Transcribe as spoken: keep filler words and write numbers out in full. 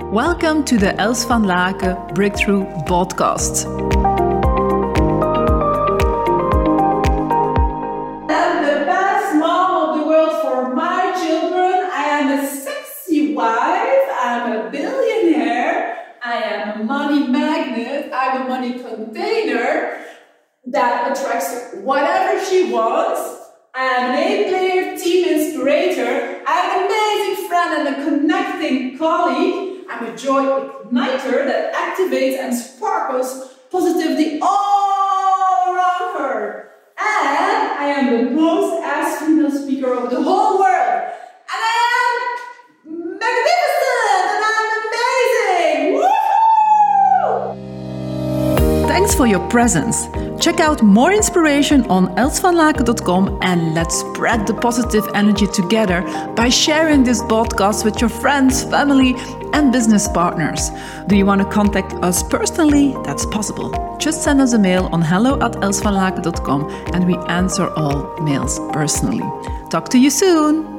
Welcome to the Els van Laken Breakthrough Podcast. I'm the best mom of the world for my children. I am a sexy wife. I'm a billionaire. I am a money magnet. I'm a money container that attracts whatever she wants. I'm an A-player, team inspirator. I'm an amazing friend and a connecting colleague. I'm a joy igniter that activates and sparkles positivity all around her. And I am the most asked female speaker of the whole world. And I am magnificent! And I'm amazing! Woohoo! Thanks for your presence. Check out more inspiration on els van laken dot com and let's spread the positive energy together by sharing this podcast with your friends, family, and business partners. Do you want to contact us personally? That's possible. Just send us a mail on hello at els van laken dot com and we answer all mails personally. Talk to you soon.